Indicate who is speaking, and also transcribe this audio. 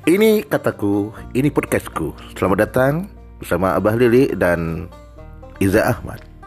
Speaker 1: Ini kataku, ini podcastku. Selamat datang bersama Abah Lili dan Iza Ahmad.